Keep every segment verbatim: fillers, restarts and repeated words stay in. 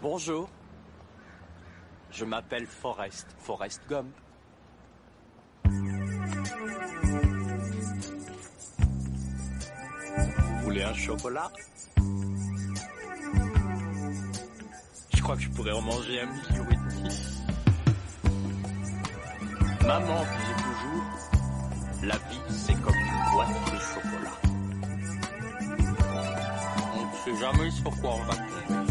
Bonjour. Je m'appelle Forrest, Forrest Gump. Vous voulez un chocolat? Je crois que je pourrais en manger un million et demi. Maman disait toujours, la vie c'est comme une boîte de chocolat. On ne sait jamais sur quoi on va tomber.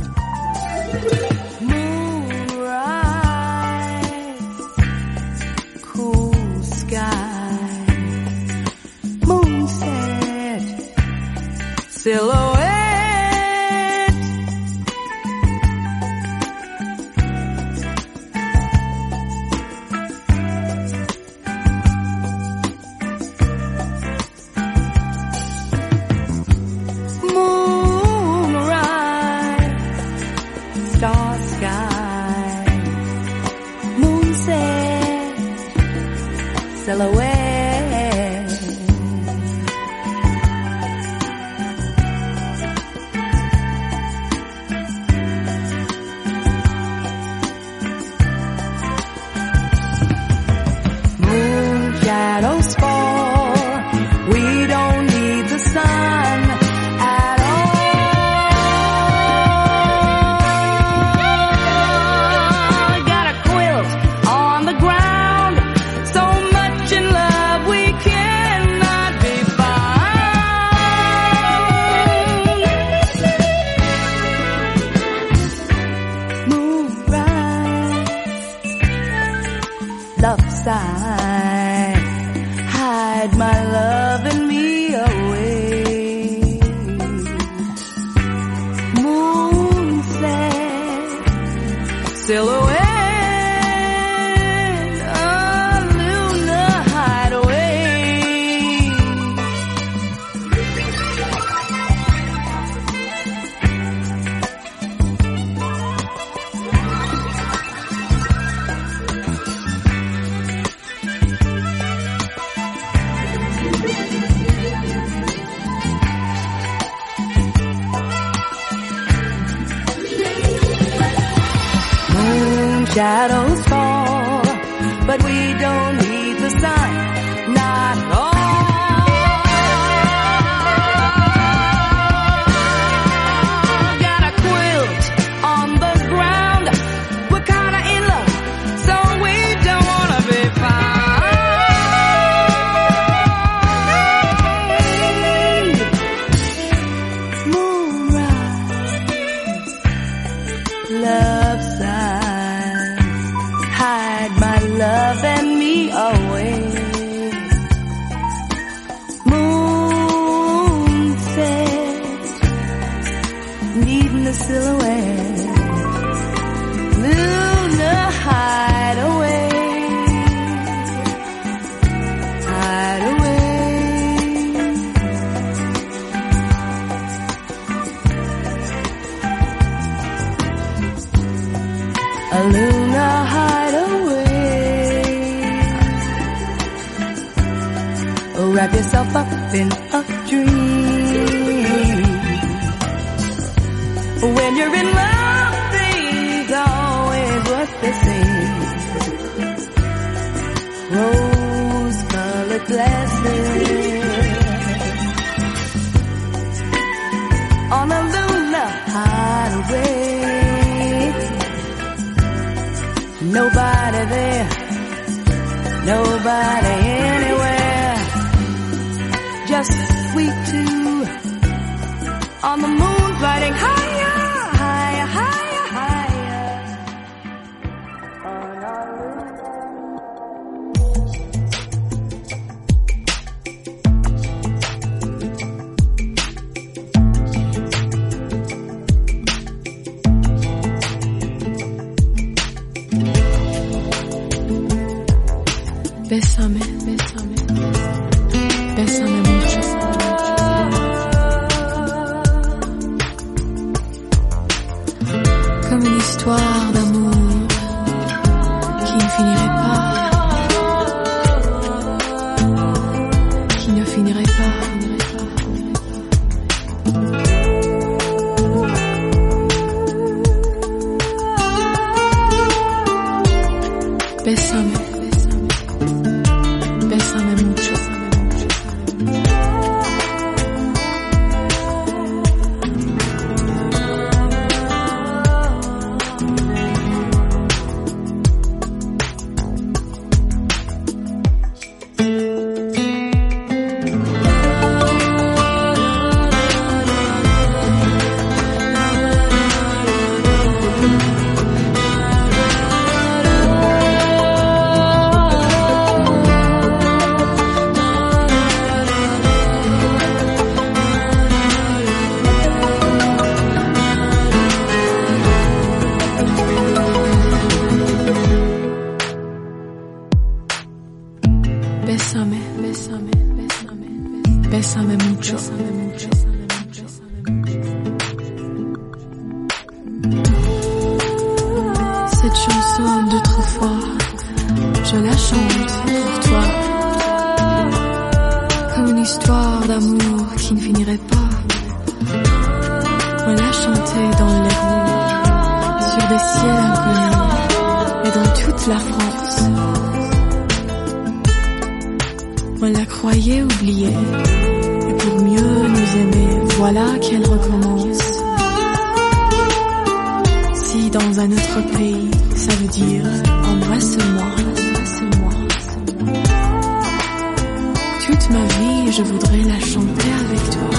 Moonrise, cool sky, moonset, silhouette. Silhouette. Moon shadows fall. We don't need the sun at all. Got a quilt on the ground. So much in love we cannot be found. Moonrise, love side, hide my love and me away. Moonset, silhouette. Shadows fall, but we don't need the sun, not at all. Got a quilt on the ground, we're kinda in love, so we don't wanna be found. Moonrise, love side, hide my love and me away. Moonset, needing a silhouette. Luna, hide away, hide away. A Luna, hide away. Oh, wrap yourself up in a dream. When you're in love, things always what they seem. Rose-colored glasses on a Luna, hide away. Nobody there, nobody anywhere. Just we two on the moon, fighting higher, higher, higher, higher. On our Bésame, bésame, bésame mucho. Comme une histoire d'amour qui ne finirait pas, qui ne finirait pas. Bésame, bésame mucho. Bésame, bésame, bésame, bésame mucho. Cette chanson d'autrefois, je la chante pour toi, comme une histoire d'amour qui ne finirait pas. On l'a chantée dans les rues, sur des ciels inconnus, et dans toute la France. On la croyait oubliée, et pour mieux nous aimer, voilà qu'elle recommence. Si dans un autre pays, ça veut dire embrasse-moi, embrasse-moi. Toute ma vie, je voudrais la chanter avec toi.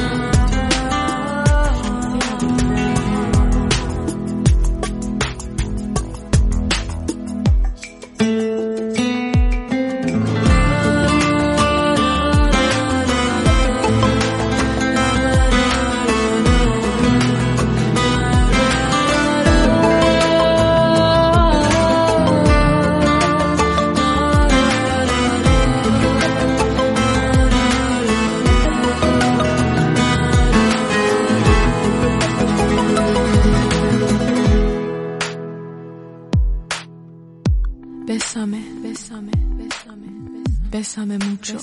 Bésame, bésame, bésame, bésame mucho.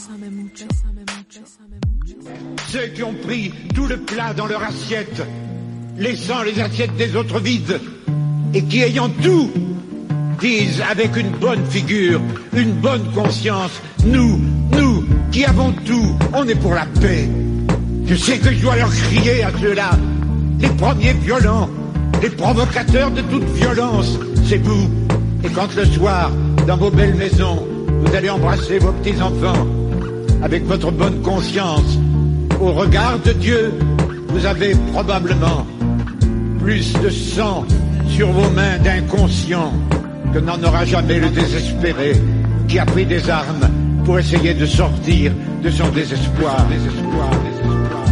Ceux qui ont pris tout le plat dans leur assiette, laissant les assiettes des autres vides, et qui ayant tout, disent avec une bonne figure, une bonne conscience, nous, nous, qui avons tout, on est pour la paix. Je sais que je dois leur crier à ceux-là, les premiers violents, les provocateurs de toute violence, c'est vous. Et quand le soir, dans vos belles maisons, vous allez embrasser vos petits-enfants, avec votre bonne conscience, au regard de Dieu, vous avez probablement plus de sang sur vos mains d'inconscient que n'en aura jamais le désespéré qui a pris des armes pour essayer de sortir de son désespoir. désespoir, désespoir.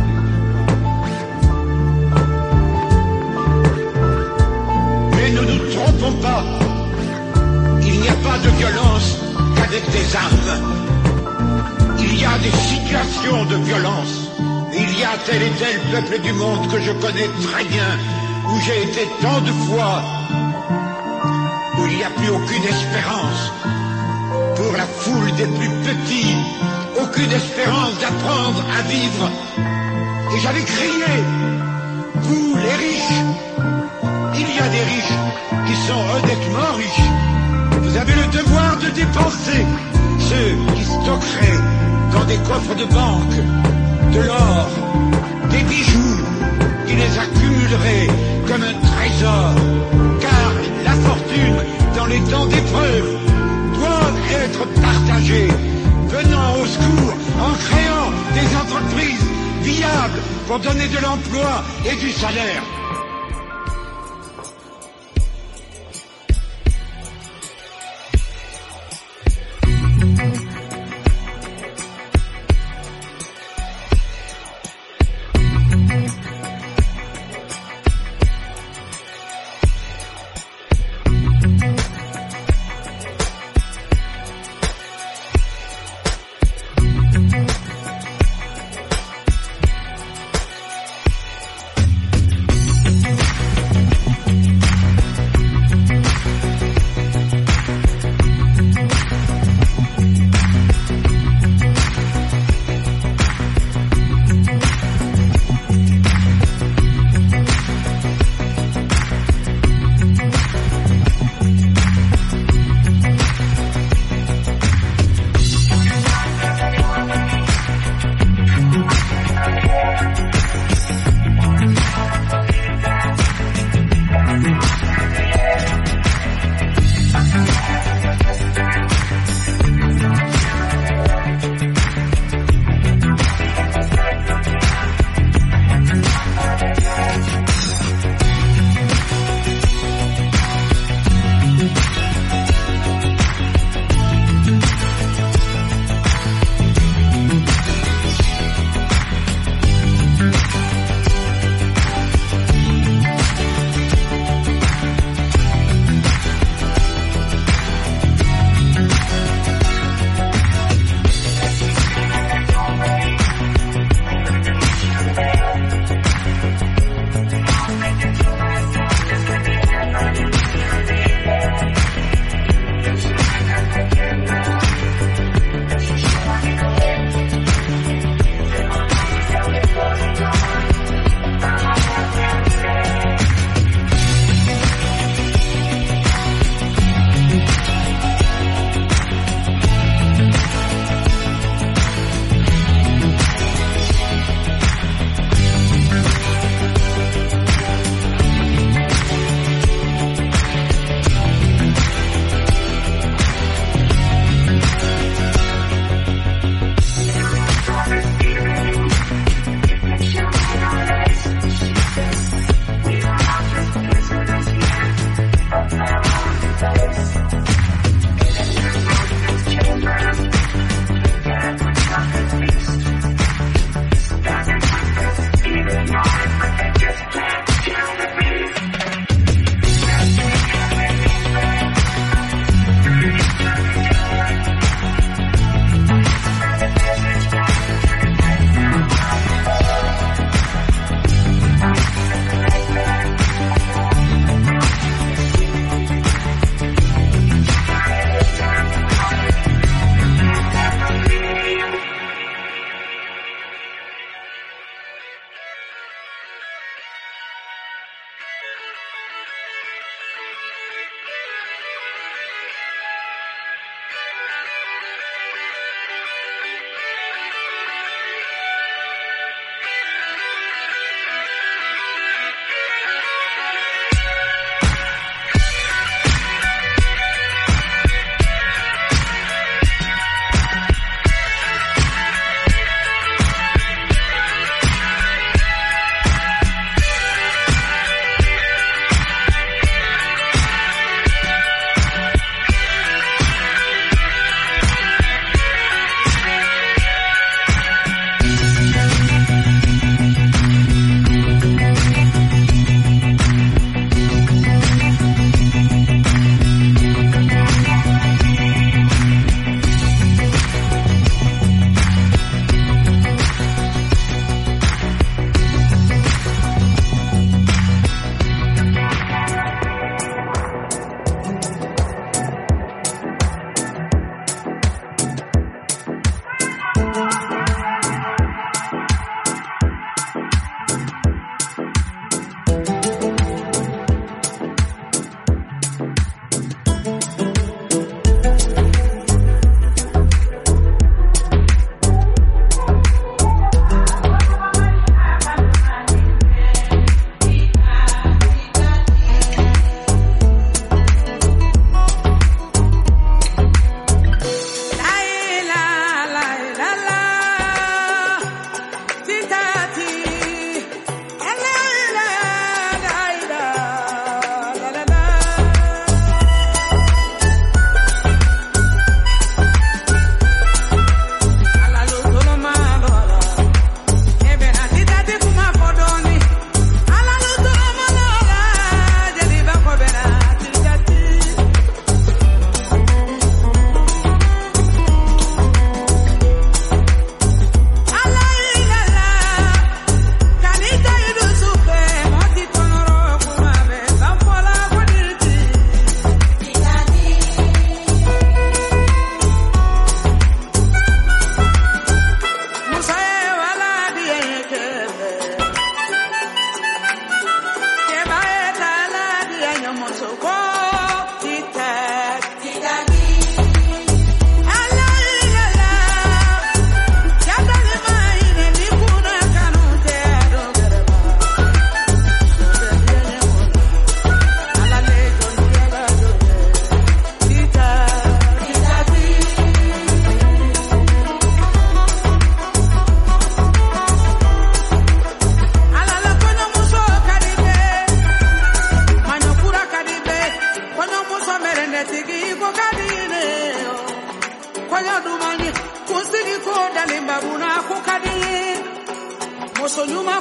Mais ne nous trompons pas. Il n'y a pas de violence qu'avec des armes. Il y a des situations de violence. Il y a tel et tel peuple du monde que je connais très bien, où j'ai été tant de fois, où il n'y a plus aucune espérance. Pour la foule des plus petits, aucune espérance d'apprendre à vivre. Et j'avais crié, vous les riches, il y a des riches qui sont honnêtement riches. Vous avez le devoir de dépenser ceux qui stockeraient dans des coffres de banque de l'or, des bijoux, qui les accumuleraient comme un trésor. Car la fortune, dans les temps d'épreuve, doit être partagée, venant au secours en créant des entreprises viables pour donner de l'emploi et du salaire.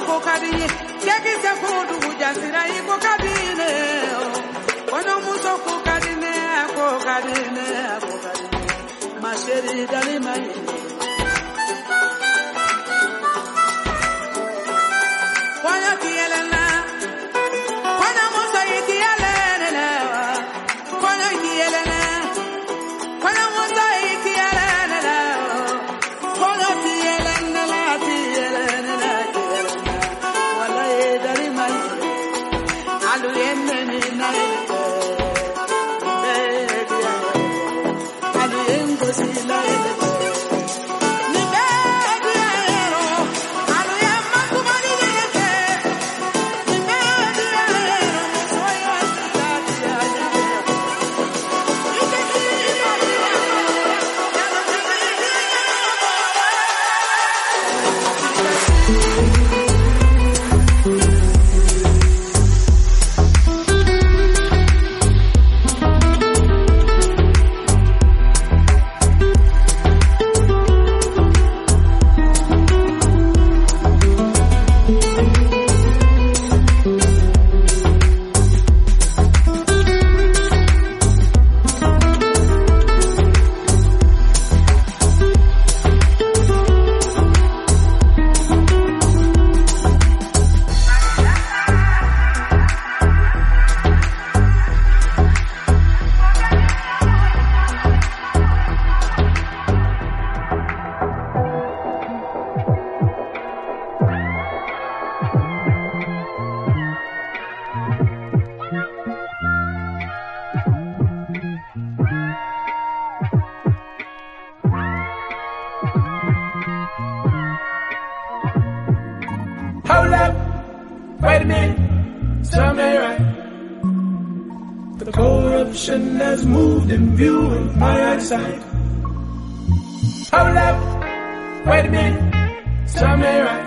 kokadini, keki se kudu ujasira iko kadine. Kono muso kokadine, kokadine, kokadine. Masheri dali mai. Kono kielena, kono muso ikielena, kono kielena, kono muso ikielena, kono kielena la kielena, wala edari mai, alu enne ni nai, alu engo si nai. Hold up, wait a minute, something right. The corruption has moved in view of my eyesight. Hold up, wait a minute, something right.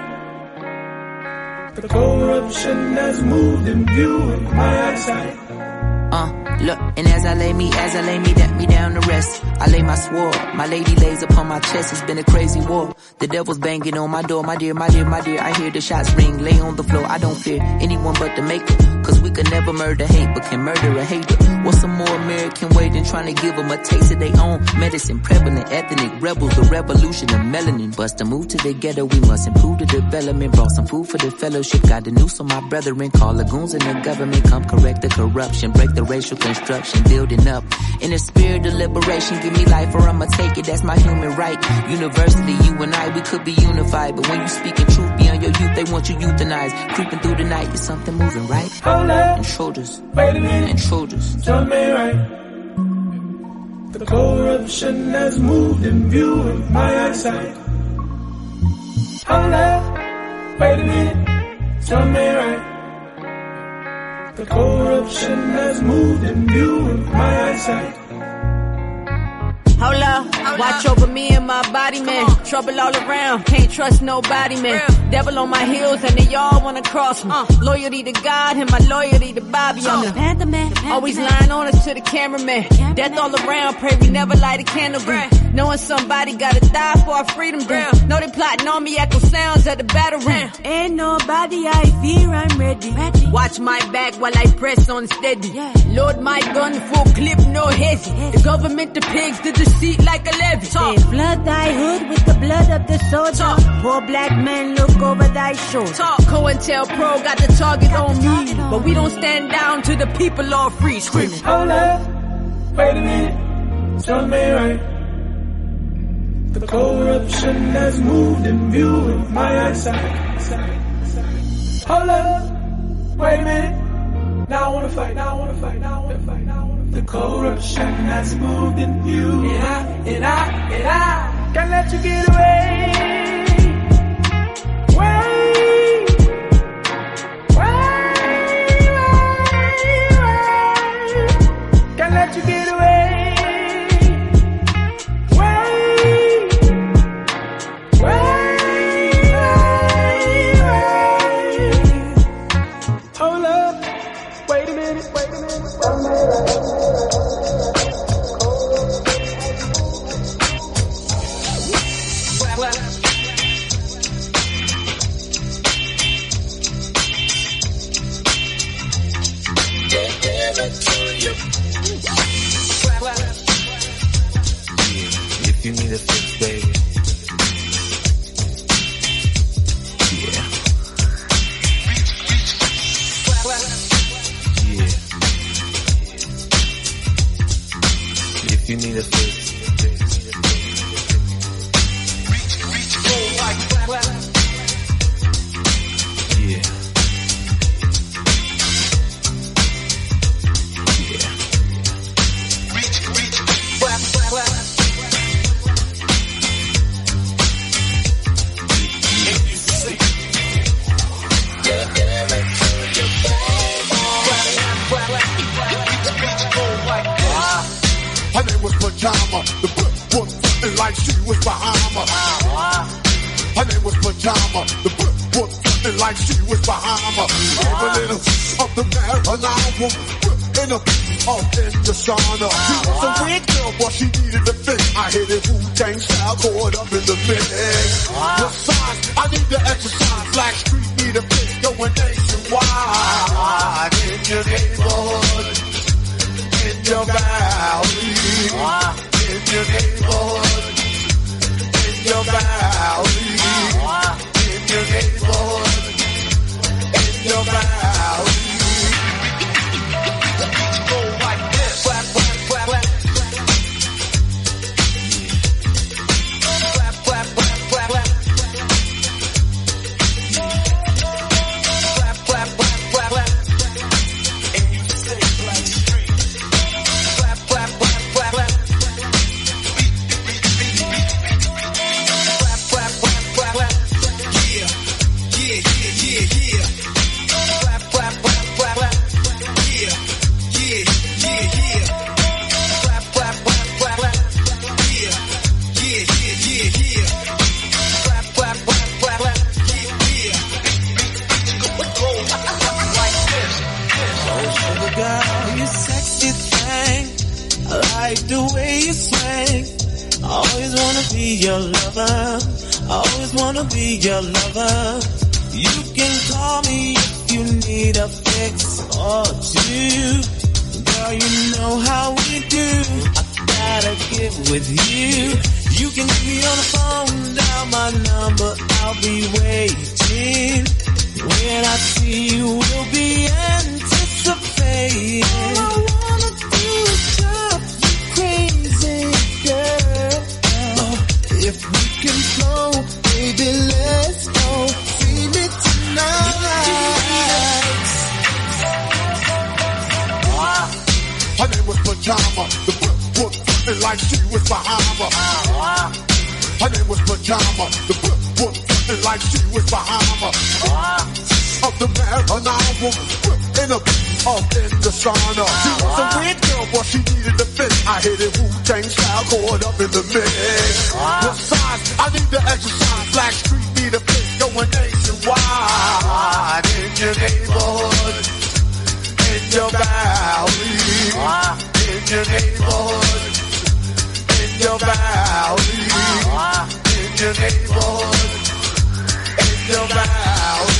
The corruption has moved in view of my eyesight. Uh, look, and as I lay me, as I lay me, that me down to rest, I lay my sword. My lady lays upon my chest. It's been a crazy war. The devil's banging on my door. My dear, my dear, my dear. I hear the shots ring. Lay on the floor. I don't fear anyone but the maker. Cause we could never murder hate, but can murder a hater. What's some more American way than trying to give them a taste of their own medicine? Prevalent ethnic rebels, the revolution of melanin. Bust a move to the ghetto. We must improve the development. Brought some food for the fellowship. Got the news on my brethren. Call the goons in the government. Come correct the corruption. Break the racial construction. Building up in the spirit of liberation. Give me life or I'ma take it. That's my human right. Universally, you and I, we could be unified. But when you speaking truth beyond your youth, they want you euthanized. Creeping through the night, is something moving right? Hold up, intruders, wait a minute, intruders. Tell me right. The corruption has moved in view of my eyesight. Hold up, wait a minute, tell me right. The corruption has moved in view of my eyesight. Hold up, watch over me and my body, man. Trouble all around, can't trust nobody, man. Devil on my heels and they all wanna cross me. Uh, loyalty to God and my loyalty to Bobby. I'm the Panther Man. Always lying on us to the cameraman. Death all around, pray we never light a candle green. Knowing somebody gotta die for our freedom dream. Know they plotting on me, echo sounds at the battle ring. Ain't nobody I fear, I'm ready. ready. Watch my back while I press on steady. Yeah. Load my gun, full clip, no hezzy. The government, the pigs, the deceit like a levy. Talk. They flood thy hood with the blood of the soldier. Talk. Poor black men look over thy shoulder. Talk. COINTELPRO got the target got on the target me. On but we don't stand down to the people all free. Screaming. Hold up, wait a minute, tell me right. The corruption has moved in view of my eyesight. Hold up, wait a minute. Now I wanna fight, now I wanna fight, now I wanna fight, now I wanna fight. The corruption has moved in view. And I, and I, and I can't let you get away. Wait, wait, wait, wait. Can't let you get away. If you need a fix, baby. Yeah. Yeah. If you need a fix. Yeah. Her name was Pajama. The whip was frontin' like she was Bahama. Her name was Pajama. The whip was frontin' like she was Bahama. Gave a little of the marijuana. In a off in the sauna. She was a weird girl, but she needed a fix. I hit it Wu-Tang style, caught up in the mix. Besides, I need to exercise. Black Street need a fix, going nationwide. In your neighborhood. In your valley, in your neighborhood, in your valley, in your neighborhood, in your valley. Go like this. Clap, clap, clap, clap. Clap, clap, clap, clap, clap. Clap, clap, clap, clap, clap. And you say Black Street. Clap, clap, clap, clap, clap. Clap, clap, clap, clap, clap. Yeah, yeah, yeah, yeah, yeah. Clap, clap, clap, clap, clap. Yeah, yeah, yeah, yeah. Clap, clap, clap, clap, clap. Yeah, yeah, yeah, yeah, yeah. Clap, clap, clap, clap, clap. Yeah, yeah. Go like this. Oh, sugar girl, you sexy thing. I like the way you swing. I always wanna be your lover. I always wanna be your lover. You can call me if you need a fix or two. Girl, you know how we do. I gotta get with you. You can get me on the phone, dial my number, I'll be waiting. When I see you, we'll be anticipating. All I wanna do is drive you crazy, girl. If we can flow, baby, let's go. See me tonight. Her name was Pajama. The whip was frontin' like she was Bahama. Her name was Pajama. The whip was frontin' like she was Bahama. Of the marijuana, in a off in the sauna. She was a weird girl, but she needed a fix. I hit it Wu-Tang style, caught up in the mix. Besides, I need to exercise. Black Street need a fix, going nationwide. In your neighborhood, in your valley, in your neighborhood, in your valley, in your neighborhood, in your valley.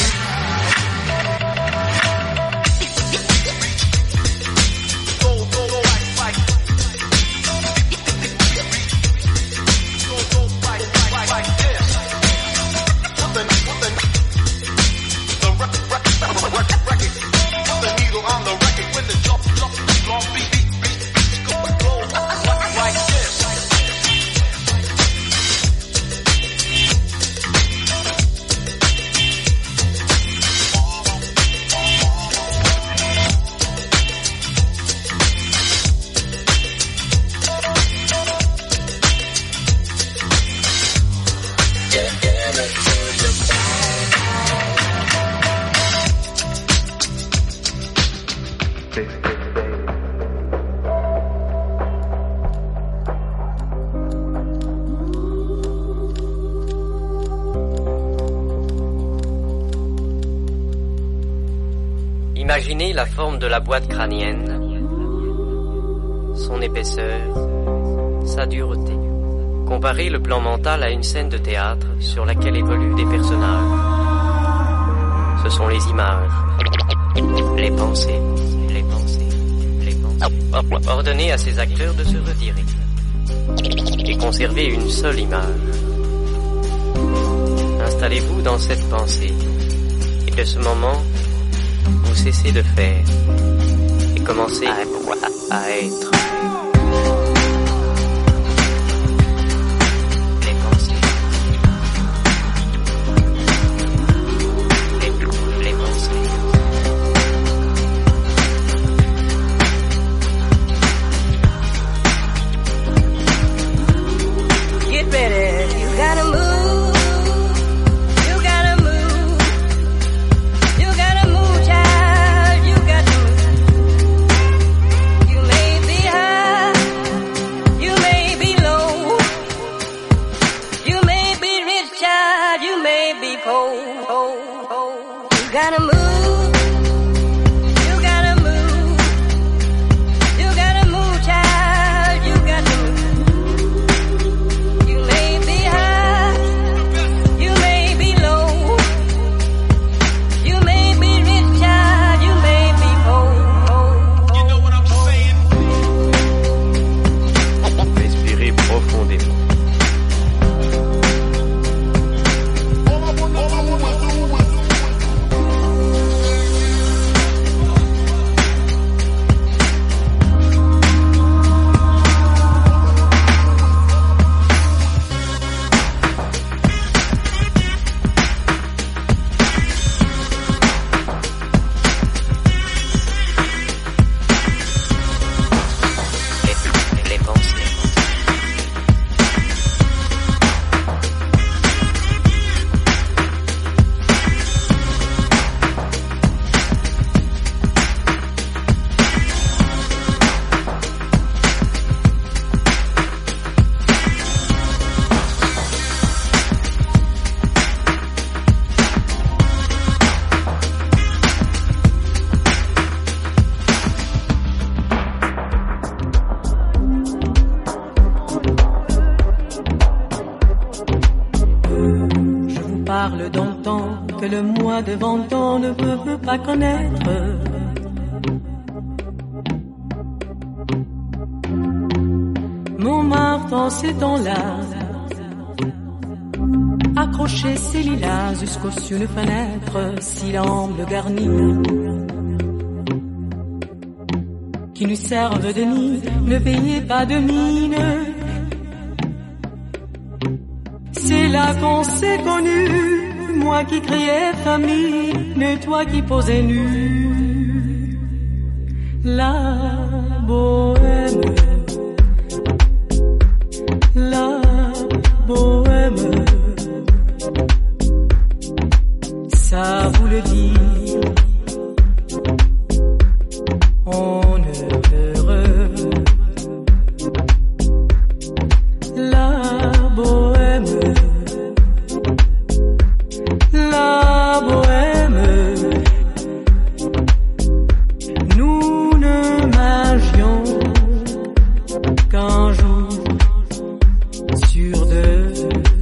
Imaginez la forme de la boîte crânienne, son épaisseur, sa dureté. Comparez le plan mental à une scène de théâtre sur laquelle évoluent des personnages. Ce sont les images, les pensées, les pensées. Ordonnez à ces acteurs de se retirer et conservez une seule image. Installez-vous dans cette pensée et de ce moment, vous cessez de faire et commencez à, à être. Les pensées. Les, les pensées. Get ready, you gotta move, you gotta move, you gotta move, child, you got to move. You may be high, you may be low, you may be rich, child, you may be poor. You gotta move, you gotta move, you gotta move, child, you got to move. You may be high, you may be low, you may be rich, child, you may be poor. You know what I'm saying? Respirez profondément. Les, les pensées. Je vous parle d'un temps que le moi de vingt ans ne veut, veut pas connaître. Montmartre en ces temps-là, accrocher ses lilas jusqu'au sur une fenêtre, si l'amble garni, qui nous servent de nid, ne payez pas de mine. C'est là qu'on s'est connus, moi qui criais famille, mais toi qui posais nu. La bohème, la bohème, ça vous le dit, on ne heureux. La bohème, la bohème, nous ne marchions qu'un jour sur deux.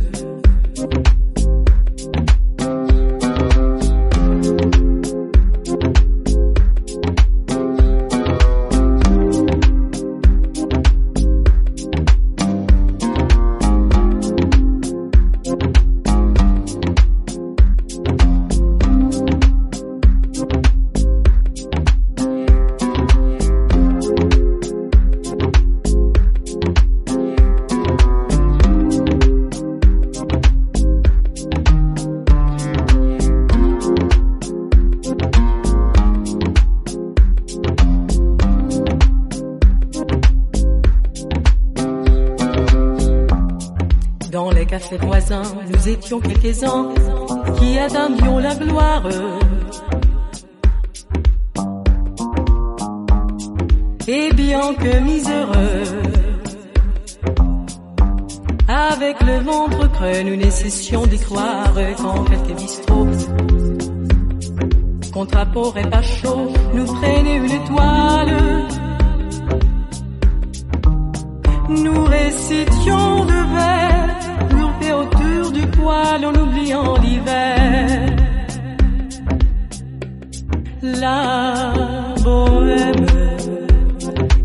Dans les cafés voisins, nous étions quelques-uns qui attendions la gloire. Et bien que miséreux, avec le ventre creux, nous ne cessions d'y croire quand quelques bistrots, contre apport et pas chaud, nous prenaient une toile. Nous récitions de vers, groupés autour du poêle en oubliant l'hiver. La bohème,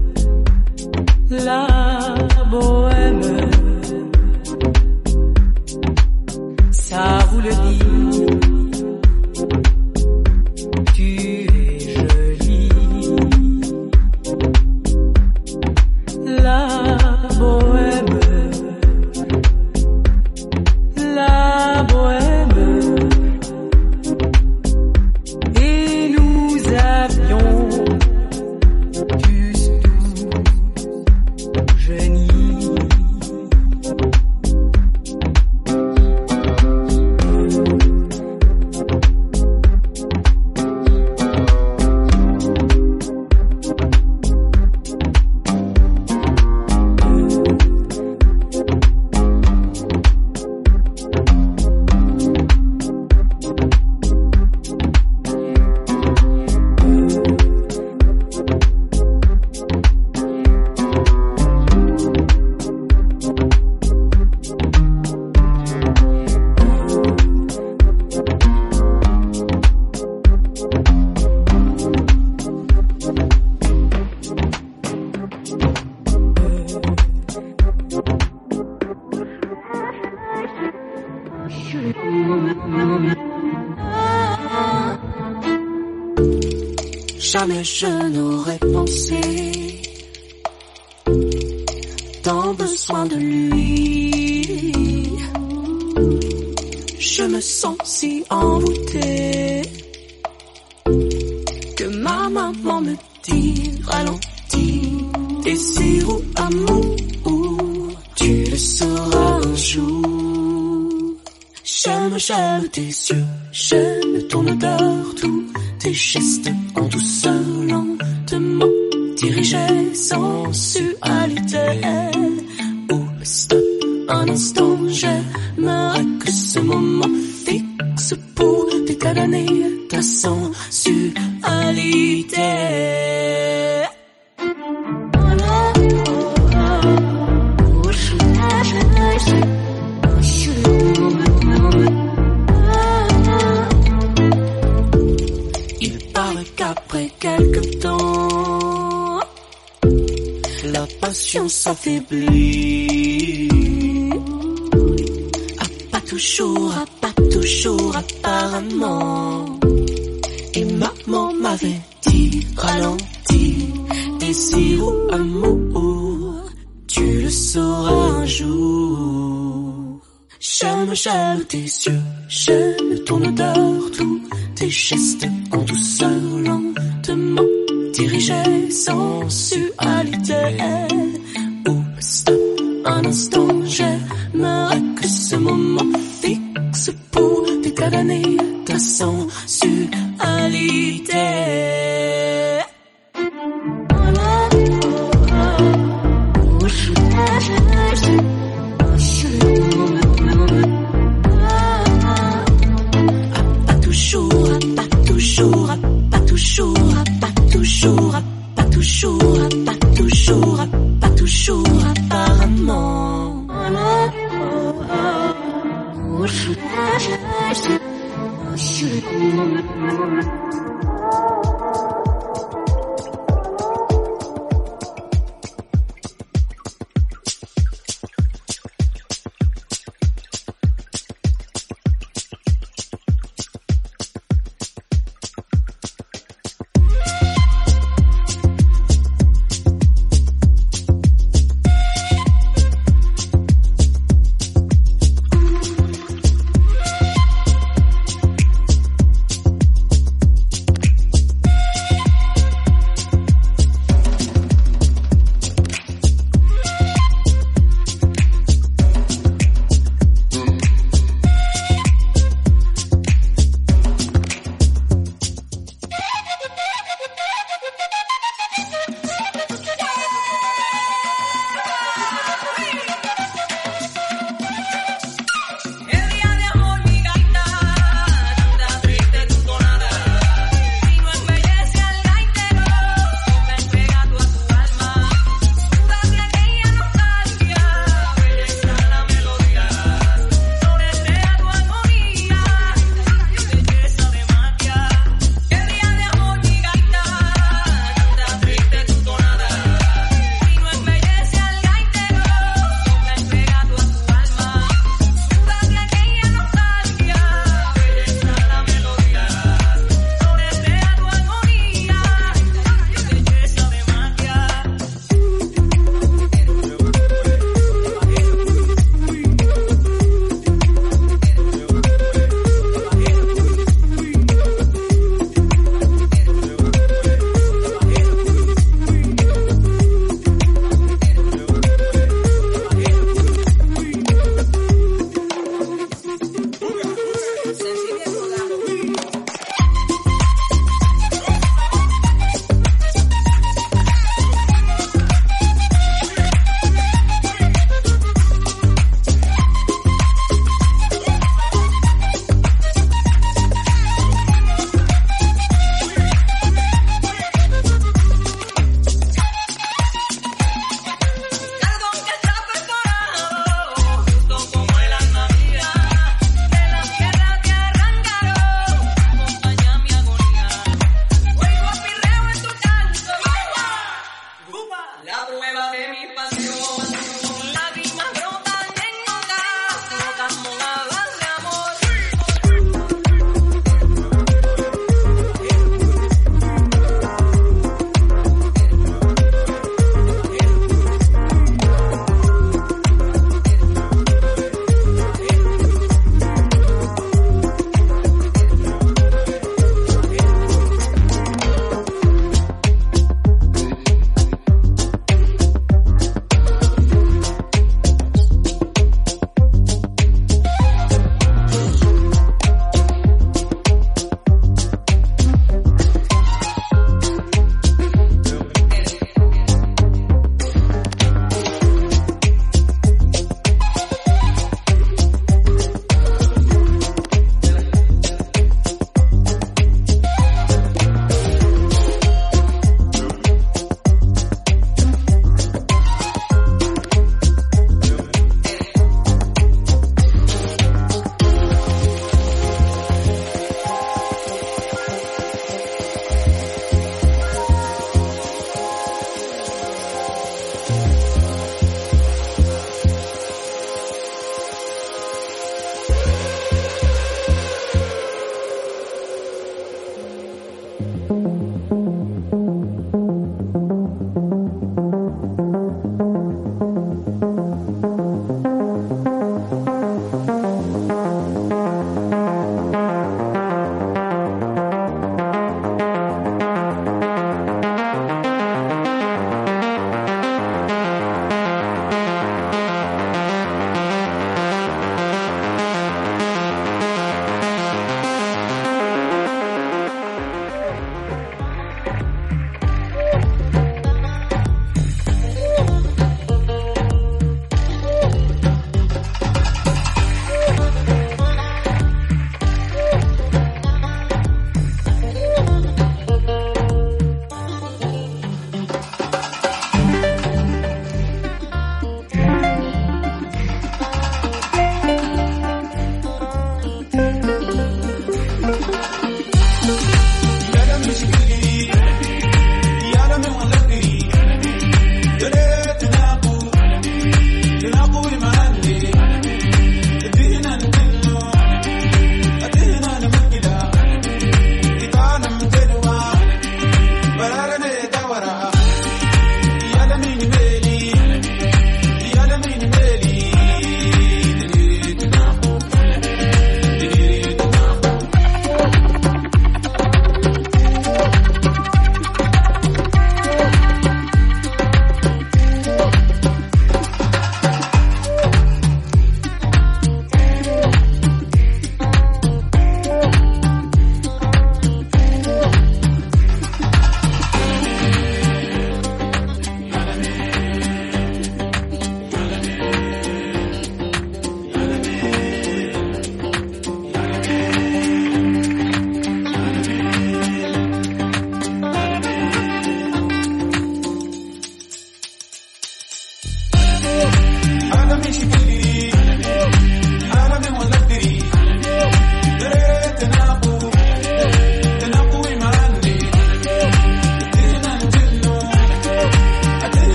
Jamais je n'aurais pensé tant besoin de lui. Je me sens si envoûtée que ma maman me dit ralentis, désir ou amour, tu le sauras un jour. J'aime, j'aime tes yeux, j'aime ton odeur, tous tes gestes en douceur, lentement dirigés, sensualité. Oh, mais stop, un instant, j'aimerais que ce moment fixe pour déclarer ta sensualité. Il paraît qu'après quelque temps, la passion s'affaiblit. Ah, pas toujours, ah, pas toujours apparemment. Et maman m'avait dit ralentis, désir ou amour, tu le sauras un jour. J'aime, j'aime tes yeux, j'aime ton odeur, tous tes gestes en douceur, lentement dirigés, sensualité. Oh, stop, un instant, j'aimerais que ce moment fixe pour déclarer ta sensualité. Pas toujours, pas toujours, pas toujours, pas toujours, pas toujours, pas toujours, pas toujours apparemment.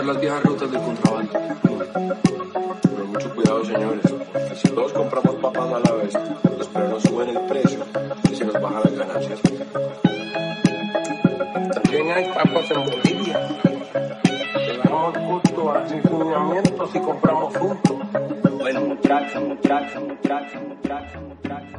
usar las viejas rutas del contrabando. Pero mucho cuidado, señores. Si todos compramos papas a la vez, los frenos suben el precio y se nos bajan las ganancias. También hay papas en Bolivia. Le damos gusto a lineamientos y compramos juntos. Bueno, muchachos, muchachos, muchachos, muchachos, muchachos.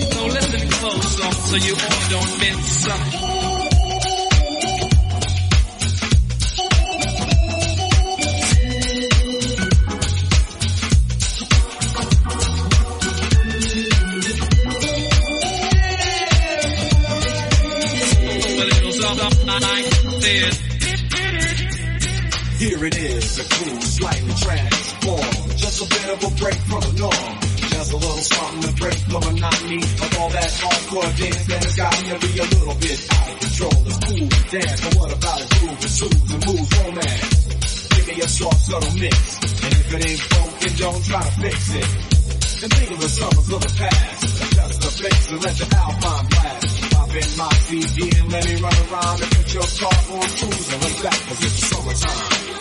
so you all don't miss. here it is, a cool, slightly transformed. Just a bit of a break from the norm. Just a little something to break the monotony of all that hardcore dance that has got me to be a little bit out of control. It's cool to dance, but what about a groove that soothes and moves romance? Give me a soft, subtle mix, and if it ain't broken, don't try to fix it. And think of the summers of the past, adjust the fix and let the Alpine blast. Pop in my C D and let me run around and put your car on cruise and lay back, cause it's summertime.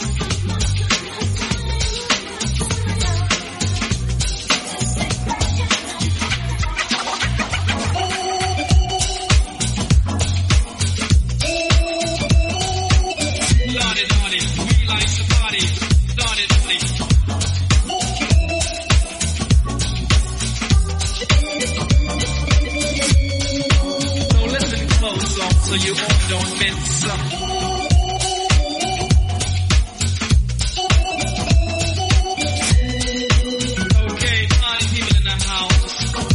So you don't miss up. Okay, party people in the house.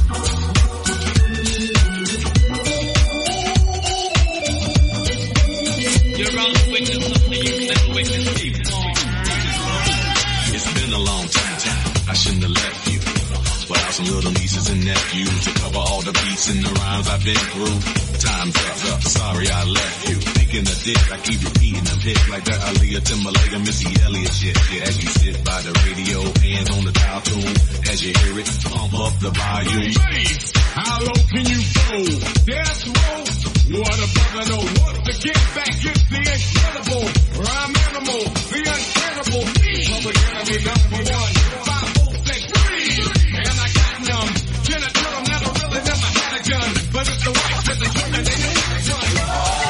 You're on to witness something you never witnessed before. It's been a long time, time. I shouldn't have left you. But I have some little nieces and nephews to cover all the beats and the rhymes I've been through. Time's up, sorry I left you. Thinking of dick, I keep repeating them hits like that Aaliyah, Timberlake, and Missy Elliott shit. Yeah, as you sit by the radio, hands on the dial tune, as you hear it, pump up the volume. Bass, how low can you go? Death row, what a brother know. Once to get back, it's the incredible. Rhyme animal, the incredible. Public enemy number one, five, four, six, three. And I got numb. Can I tell them never really never had a gun? But it's the white to the human, they know how to run.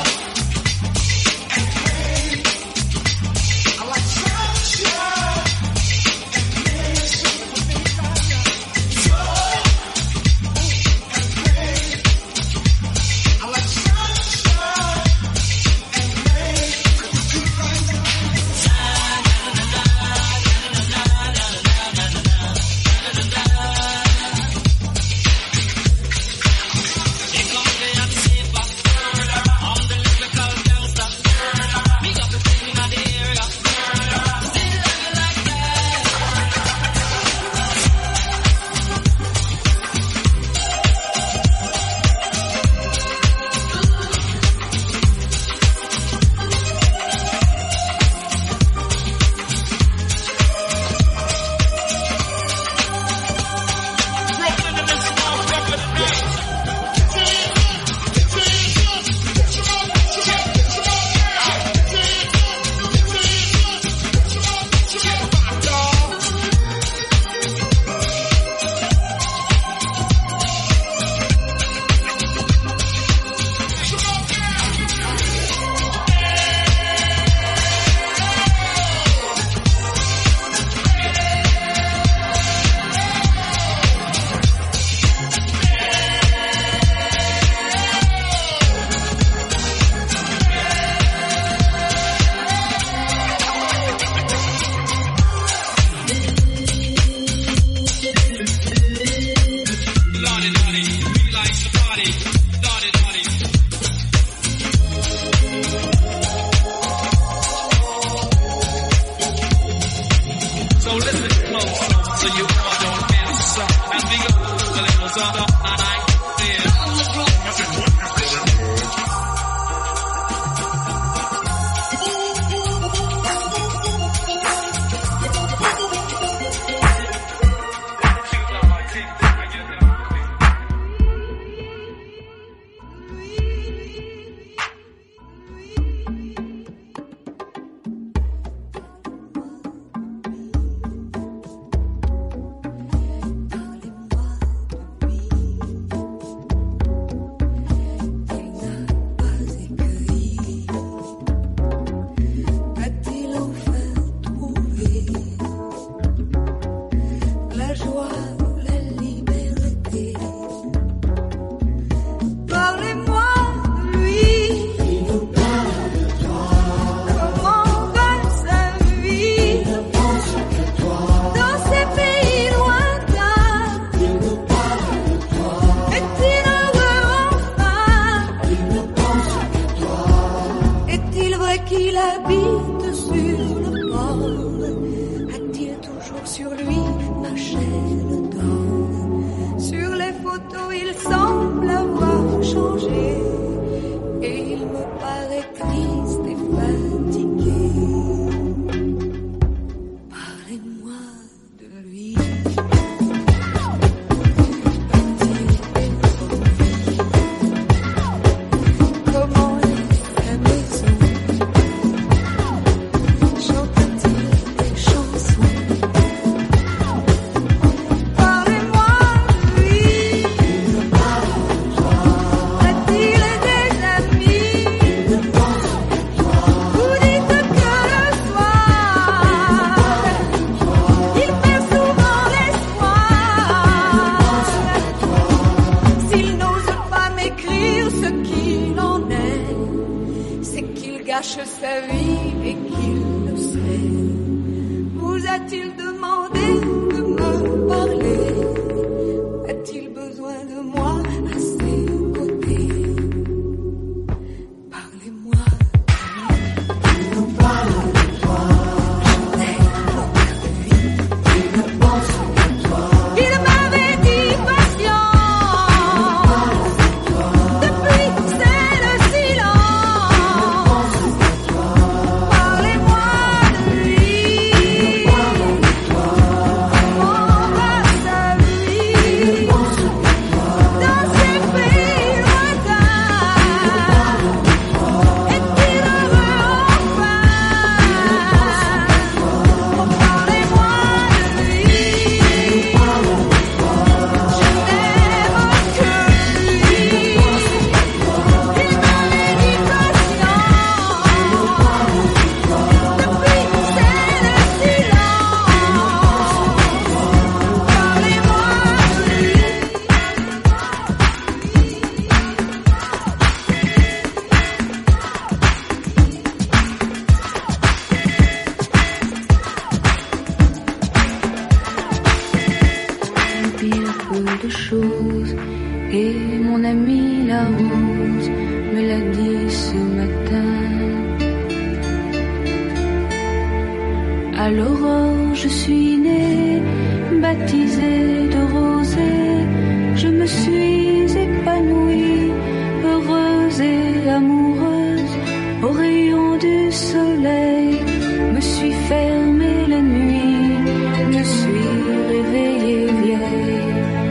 À l'aurore, je suis née, baptisée de rosée. Je me suis épanouie, heureuse et amoureuse. Au rayon du soleil, me suis fermée la nuit, me suis réveillée vieille.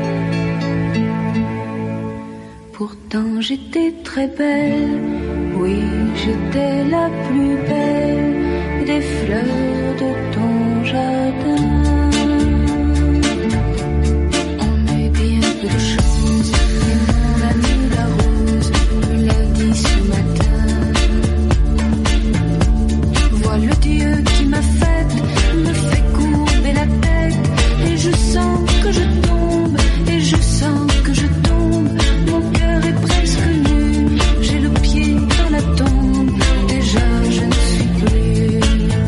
Pourtant j'étais très belle, oui j'étais la plus belle des fleurs de ton jardin. On est bien peu de choses, et mon ami la rose me l'a dit ce matin. Vois le Dieu qui m'a faite, me fait courber la tête, et je sens que je tombe, et je sens que je tombe. Mon cœur est presque nu, j'ai le pied dans la tombe, déjà je ne suis plus.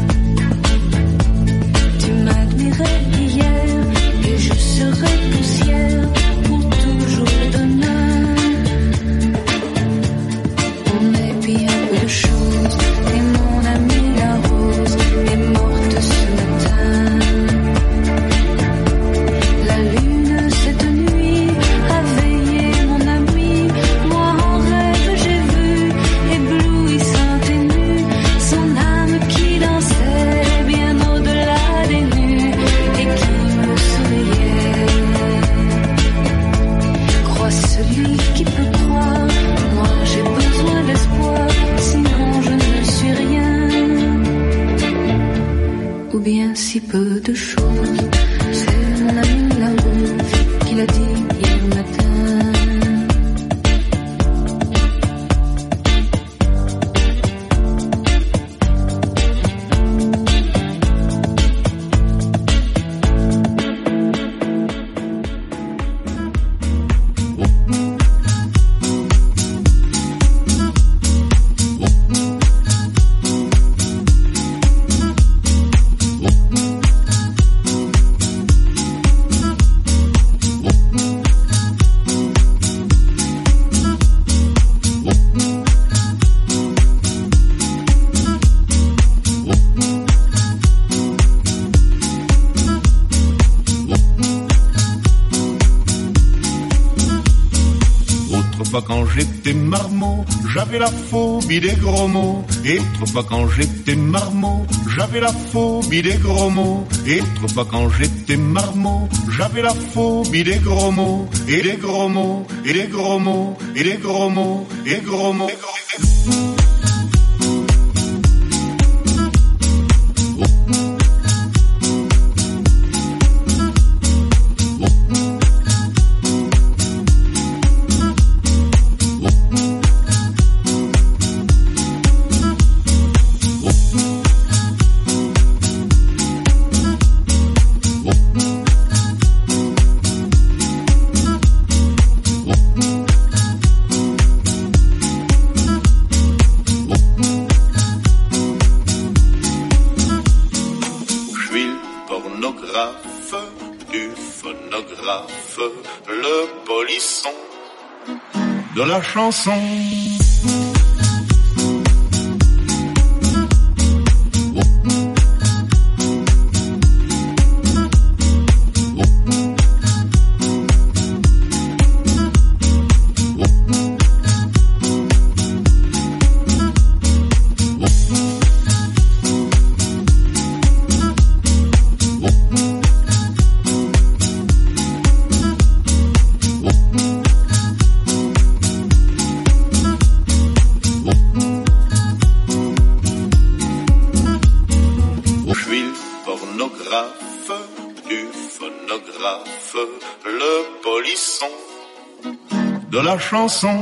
Tu m'admirais hier, et je serai poussière pour toujours demain. On est bien peu de choses, et mon ami la rose est morte ce matin. La lune cette nuit a veillé mon ami, moi en rêve j'ai vu, éblouissante et nue, son âme qui dansait bien au-delà des nues et qui me souriait. Crois celui qui peut croire, moi j'ai besoin d'espoir, sinon je ne suis rien, ou bien si peu de choses. C'est mon ami la rose qui l'a dit hier matin. Autrefois quand j'étais marmot, j'avais la phobie des gros mots. Et autrefois quand j'étais marmot, j'avais la phobie des gros mots. Et autrefois quand j'étais marmot, j'avais la phobie des gros mots. Et des gros mots, et des gros mots, et des gros mots, et des gros mots. Le polisson de la chanson. Le polisson de la chanson.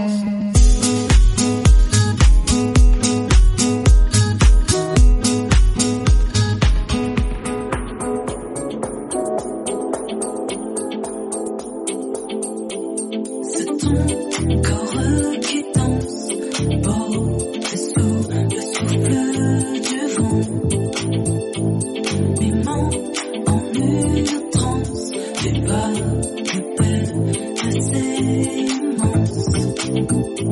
C'est ton corps qui danse, porté sous le souffle du vent, mimant en une transe des vagues belles, assez immenses.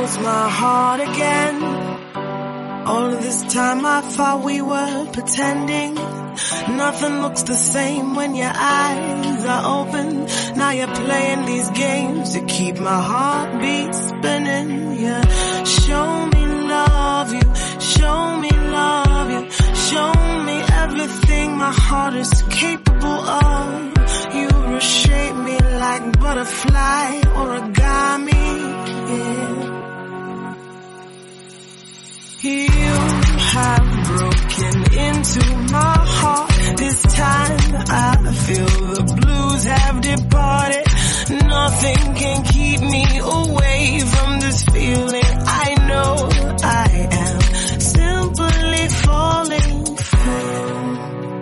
lost my heart again. All of this time I thought we were pretending. Nothing looks the same when your eyes are open. Now you're playing these games to keep my heartbeat spinning. Yeah, show me love you, show me love you, show me everything my heart is capable of. You reshape me like butterfly origami. Yeah. You have broken into my heart. This time I feel the blues have departed. Nothing can keep me away from this feeling. I know I am simply falling for you.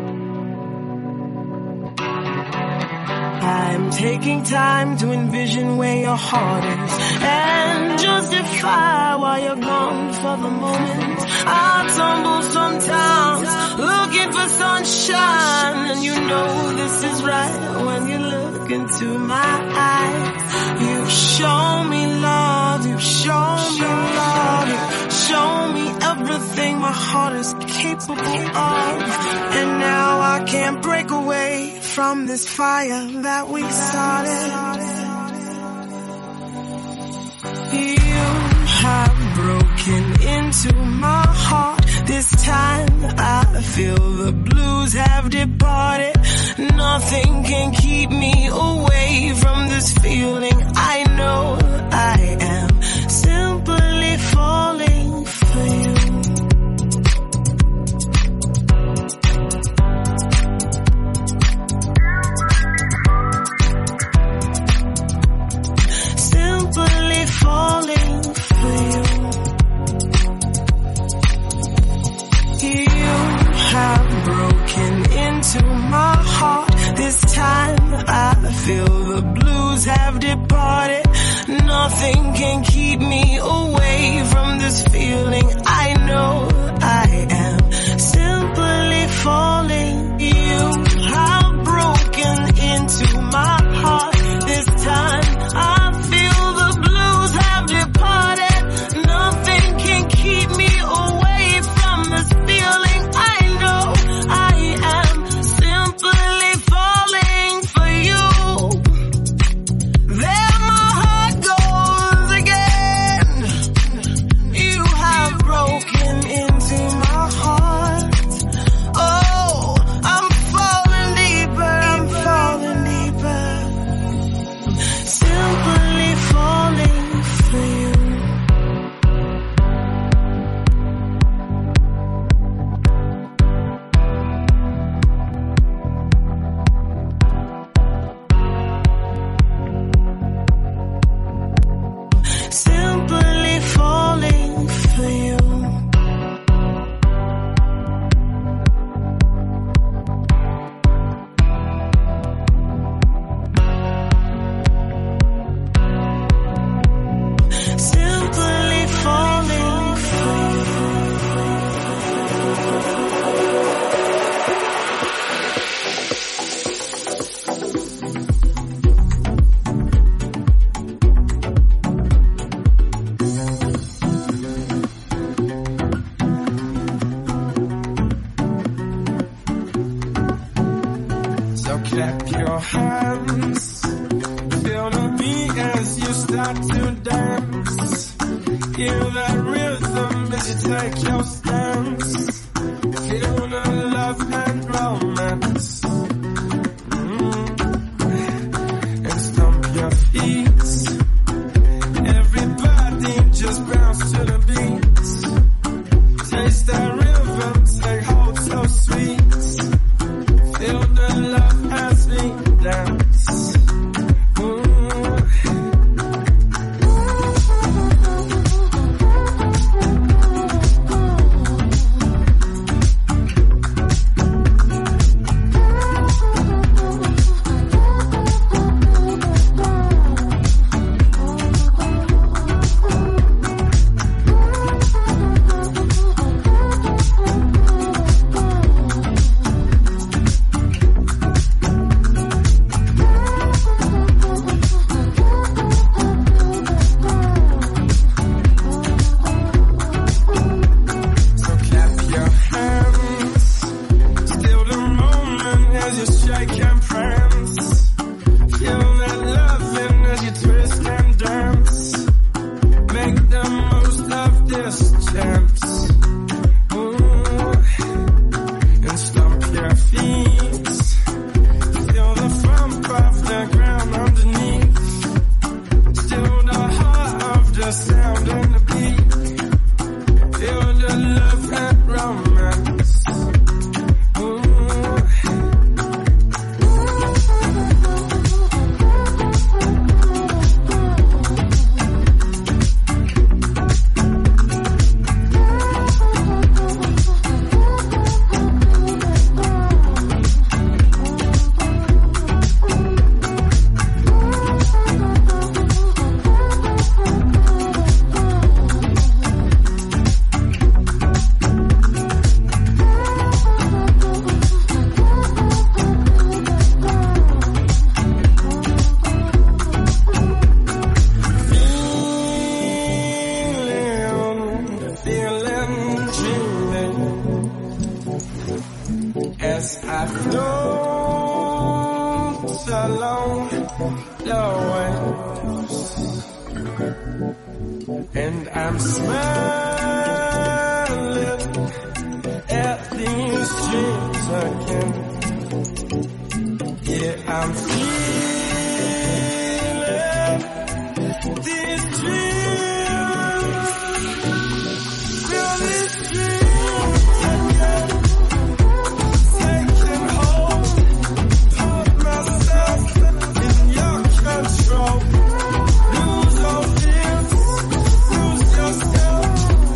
I'm taking time to envision where your heart is and justify why you're gone for the moment. I tumble sometimes looking for sunshine, and you know this is right when you look into my eyes. You show me love, you show me love, you show me everything my heart is capable of. And now I can't break away from this fire that we started. You have broken into my heart. This time I feel the blues have departed. Nothing can keep me away from this feeling. I know I am simply falling for you. Simply falling for you. You have broken into my heart. This time I feel the blues have departed. Nothing can keep me away from this feeling. I know I am simply falling. You have broken into my heart. This time I feel the blues have departed. Nothing can keep me away from this feeling. I know I am simply falling for you. There my heart goes again. You have broken into my heart. Oh, I'm falling deeper, I'm falling deeper. Simply falling for you. Simply falling for you. Simply falling for So clap your hands, feel the beat as you start to dance. Hear that rhythm as you take your stance. Feel the love and romance. Mm. And stomp your feet. Everybody just bounce to the beat. Taste that rhythm, take hold so sweet. Feel the love as we dance. Ooh. And I'm smiling at these dreams again. Yeah, I'm feeling these dreams. Feel these dreams again. Taking hold of myself in your control. Lose your fears, lose yourself.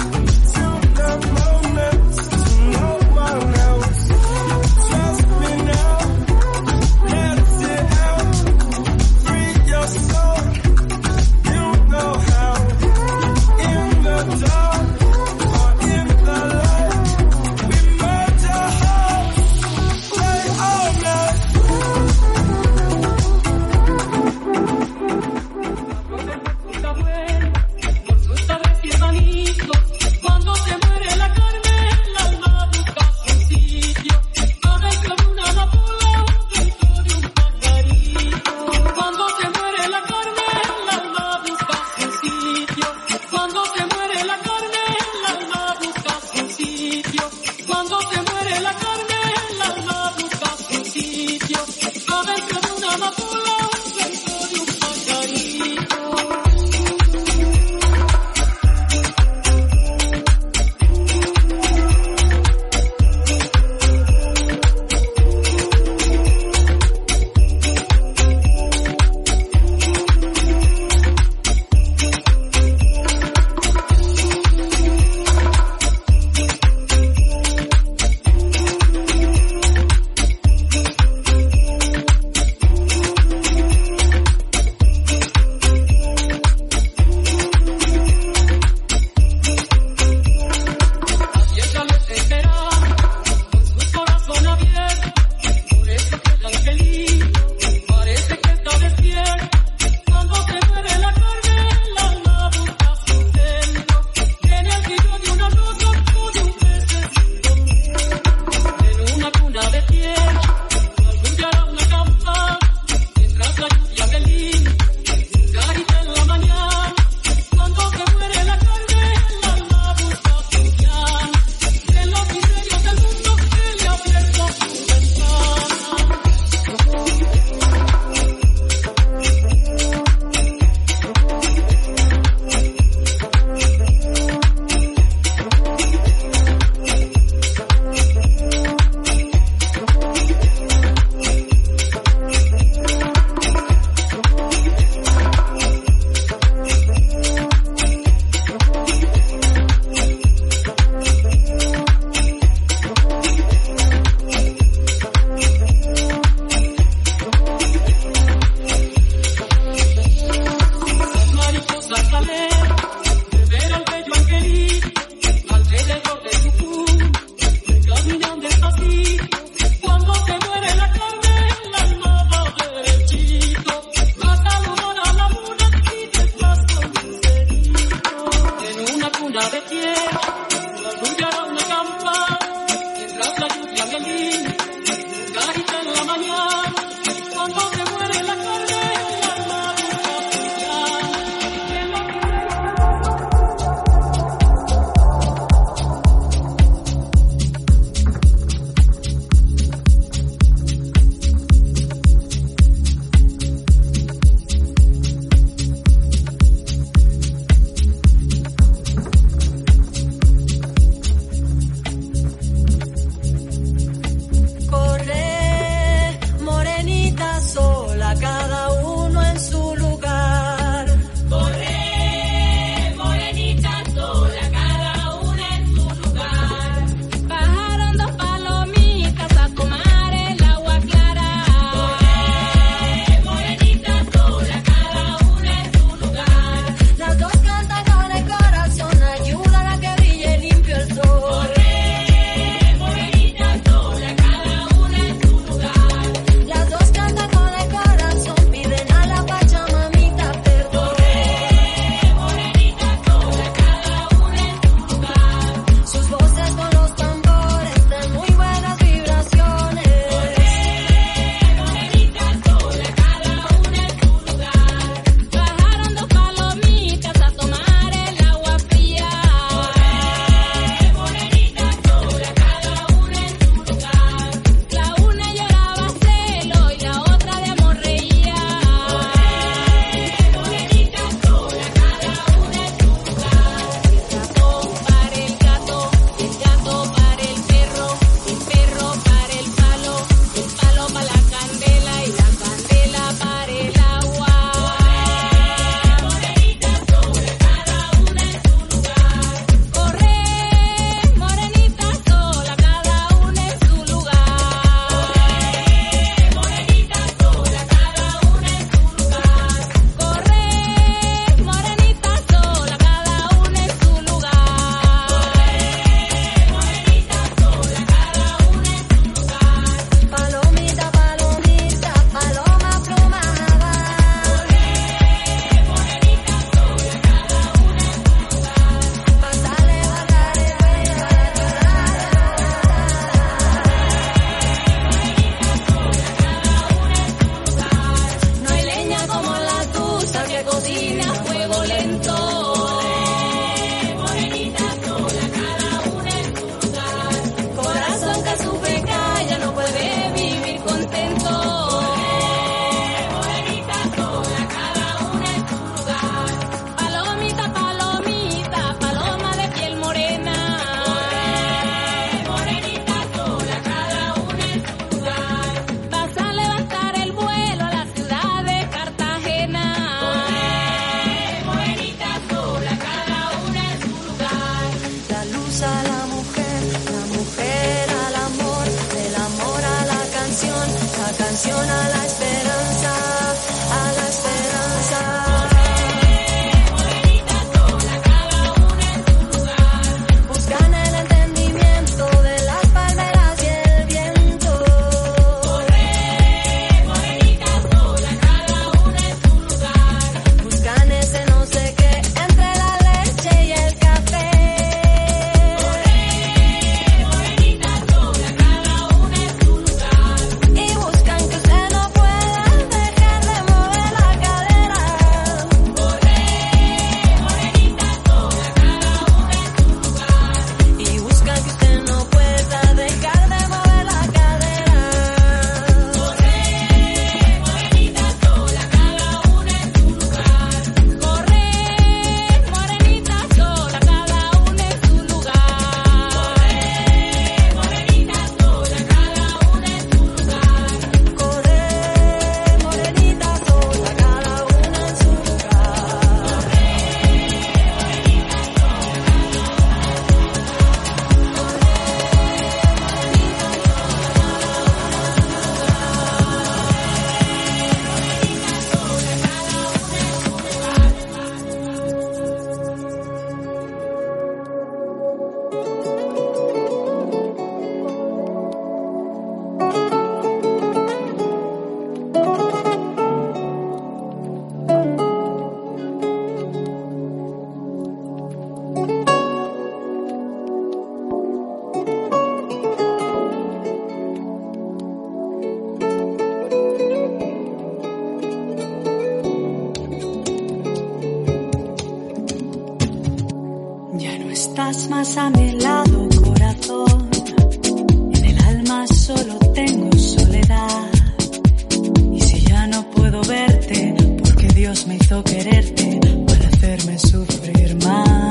estás más a mi lado, corazón. En el alma solo tengo soledad. Y si ya no puedo verte, porque Dios me hizo quererte para hacerme sufrir más.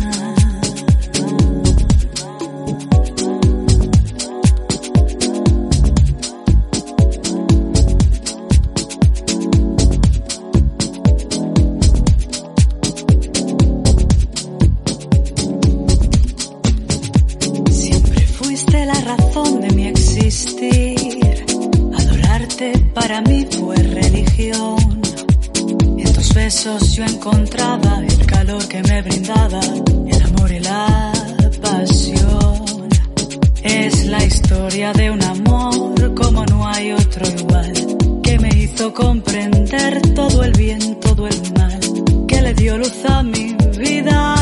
Para mí fue religión. En tus besos yo encontraba el calor que me brindaba el amor y la pasión. Es la historia de un amor como no hay otro igual, que me hizo comprender todo el bien, todo el mal, que le dio luz a mi vida,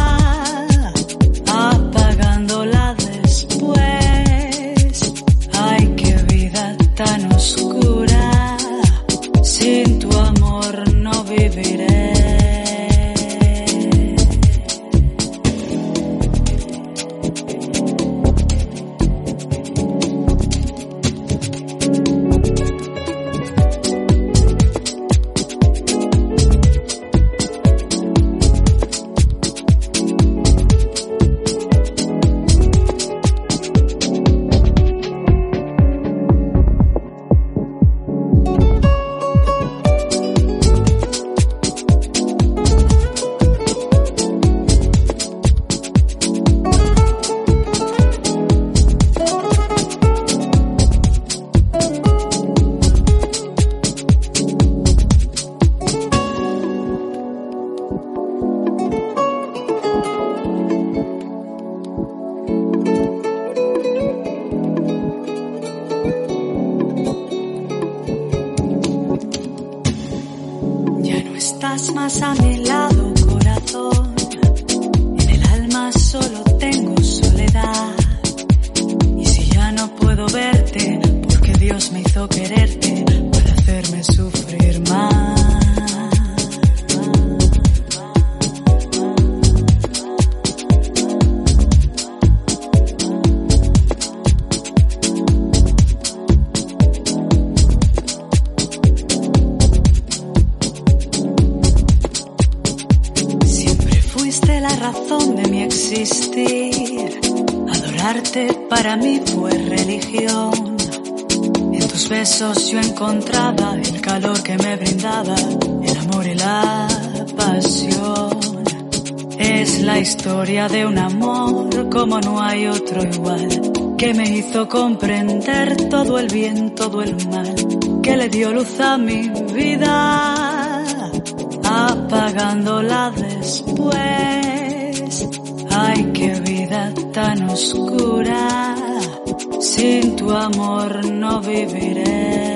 apagándola después. Ay, qué vida tan oscura. Sin tu amor no viviré. Estás más a mi lado, corazón. En el alma solo tengo soledad. Y si ya no puedo verte, porque Dios me hizo quererte para hacerme sufrir más. De mi existir, adorarte para mí fue religión. En tus besos yo encontraba el calor que me brindaba el amor y la pasión. Es la historia de un amor como no hay otro igual, que me hizo comprender todo el bien, todo el mal, que le dio luz a mi vida, apagándola después. Ay, qué vida tan oscura, sin tu amor no viviré.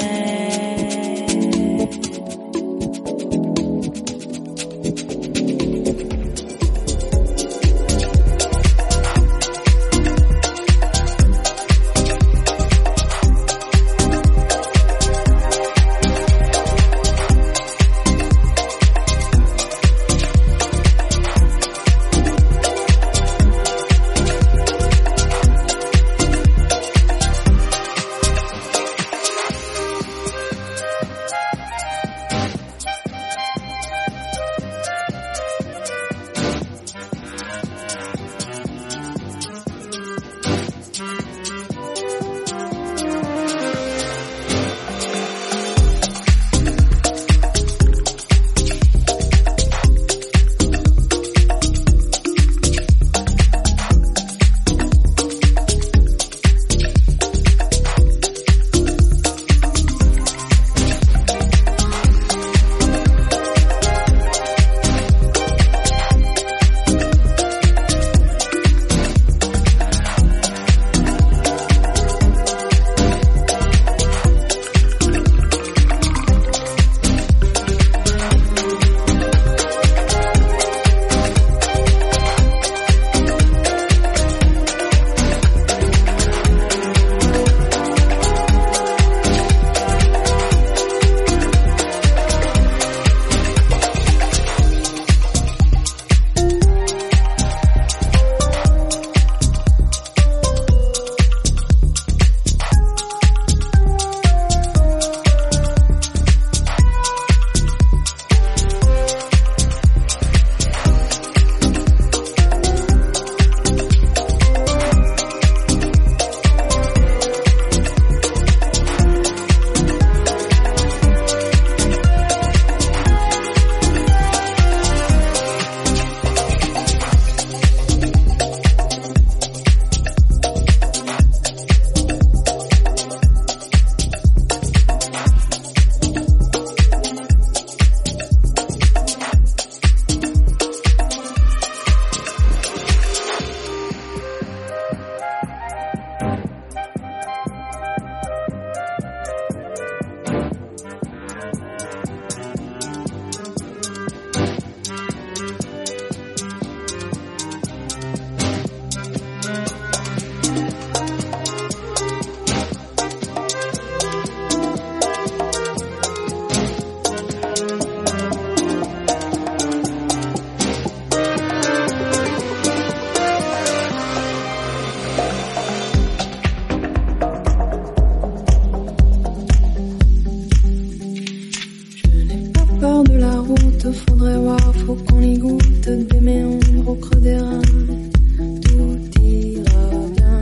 porte des méandres au creux des reins. Tout ira bien.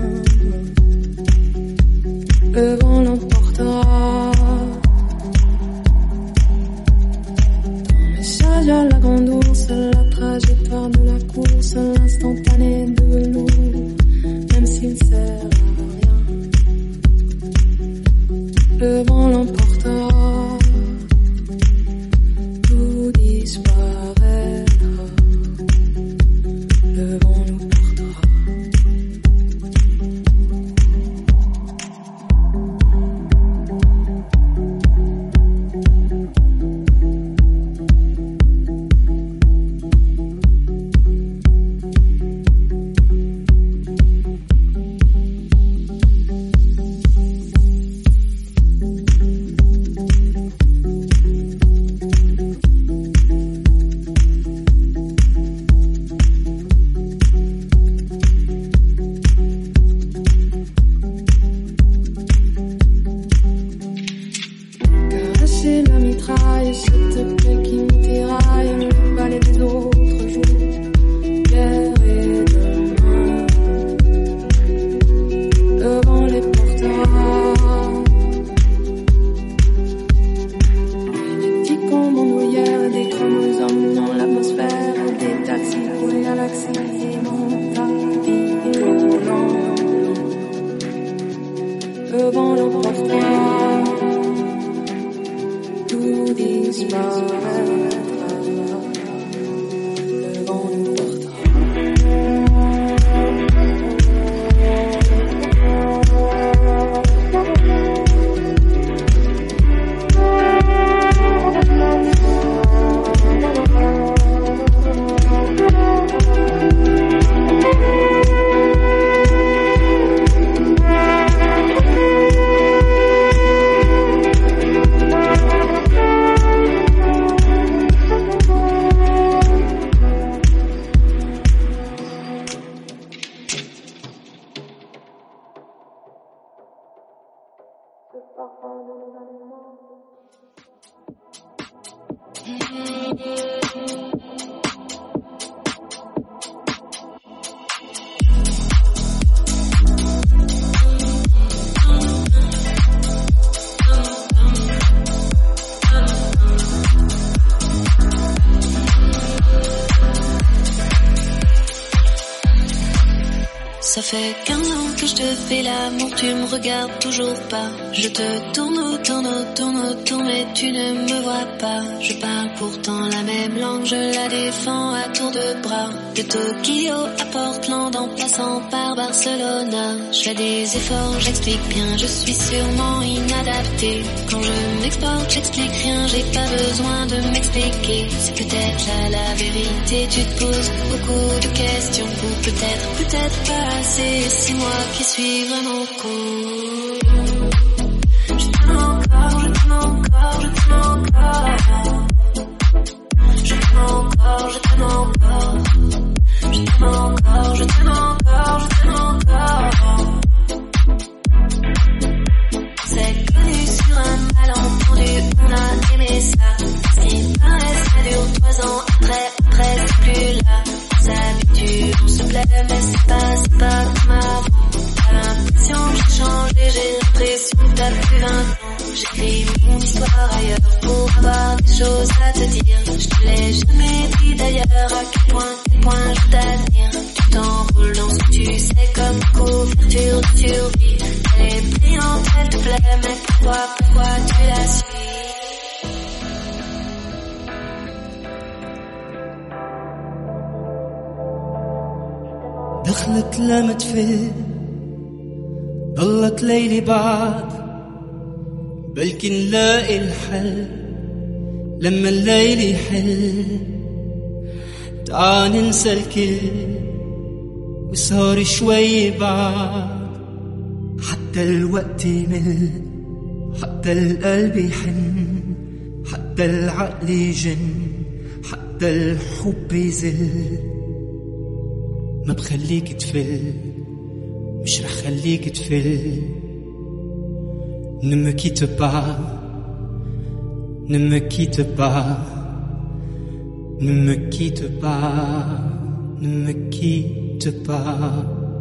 Le vent l'emportera. Dans le sage à la grande ours, la trajectoire de la course, l'instantané de velours, même s'il sert à rien. Le vent l'emportera. Tout disparaîtra. Le vent nous portera. Caresser la mitraille, cette plaie qui nous tiraille, le balai des autres jours, hier et demain. Le vent les portera. Des petits cons bandoulières, des chromosomes dans l'atmosphère, des taxis pour les galaxies, mon tapis volant. Le vent l'emportera. Tout disparaîtra. Le vent nous portera. Ça fait quinze ans que je te fais l'amour, tu me regardes toujours pas. Je te tourne autour, autour, autour, mais tu ne me vois pas. Je parle pourtant la même langue, je la défends à tour de bras. De Tokyo à Portland en passant par Barcelona. Je fais des efforts, j'explique bien, je suis sûrement inadapté. Quand je m'exporte, j'explique rien, j'ai pas besoin de m'expliquer. C'est peut-être là la vérité, tu te poses beaucoup de questions. Ou peut-être, peut-être pas assez, c'est moi qui suis vraiment con. Je t'aime encore, je t'aime encore, je t'aime encore. Je t'aime encore, je t'aime encore. Je t'aime encore, je t'aime encore, je t'aime encore. C'est connu sur un malentendu, on a aimé ça. Ce qui paraît, ça dure trois ans, après, après c'est plus là. On s'habitue, on se plaît, mais c'est pas, c'est pas comme avant. T'as l'impression que j'ai changé, j'ai l'impression que t'as plus vingt ans. J'écris mon histoire ailleurs pour avoir des choses à te dire. Je te l'ai jamais dit d'ailleurs à quel point, quel point je t'admire. Tu t'enroules dans ce tu sais comme couverture de survie. Elle est brillante, elle te plaît, mais pourquoi, pourquoi tu la suis? دخلت لمت فيه ضلت ليلي بعد بلكي نلاقي الحل لما الليل يحل تعال ننسى الكل وصار شوي بعد حتى الوقت يمل حتى القلب يحن حتى العقل يجن حتى الحب يزل ما بخليك تفل مش رح خليك تفل Ne me quitte pas, ne me quitte pas, Ne me quitte pas, ne me quitte pas.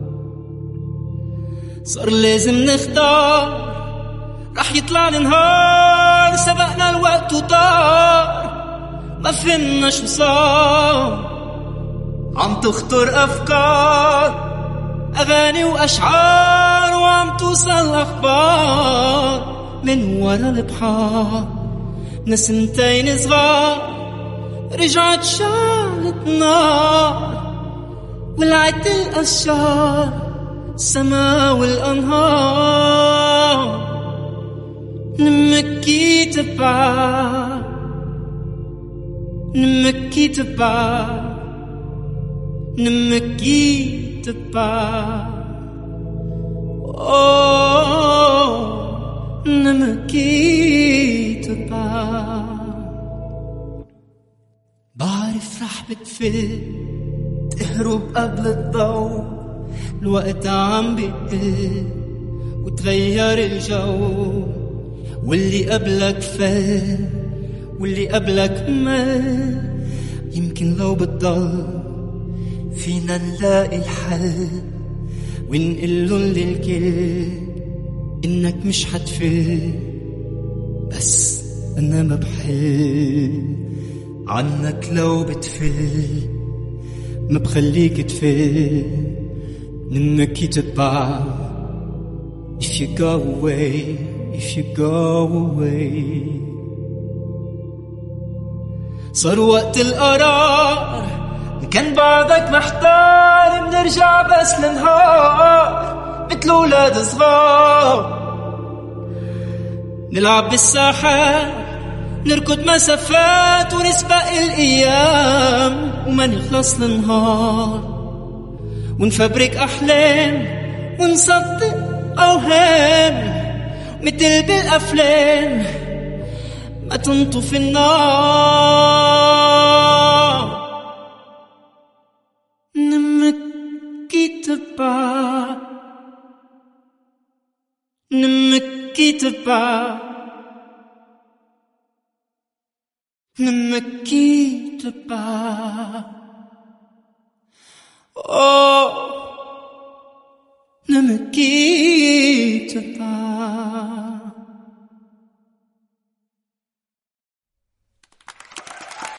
صار لازم نختار، رح يطلع النهار، سبقنا الوقت وطار، ما فهمنا شو صار. عم تخطر أفكار، أغاني وأشعار، وعم توصل أخبار من ورا البحار. نسمتين صغار رجعت شعلت نار، ولعت الأشجار السما والأنهار. Ne me quitte pas, ne me quitte pas, ne me quitte pas. Oh, ne me quitte pas. بعرف رح بتفل تهرب قبل الضوء، الوقت عم بيقل وتغير الجو، واللي قبلك فل واللي قبلك مل. يمكن لو بتضل فينا نلاقي الحل، ونقلن للكل إنك مش حتفل، بس أنا ما بحل عنك. لو بتفل ما بخليك تفل. Ne me quitte pas, if you go away, if you go away. صار وقت القرار، كان بعدك محتار، بنرجع بس لنهار مثل أولاد صغار. نلعب بالساحات، نركض مسافات، ونسبق الأيام، وما نخلص لنهار. ونفبرك أحلام، ونصدق أوهام، مثل بالأفلام ما تنطفي النار. Ne me quitte pas, ne me quitte pas, ne me quitte pas. Oh, ne me quitte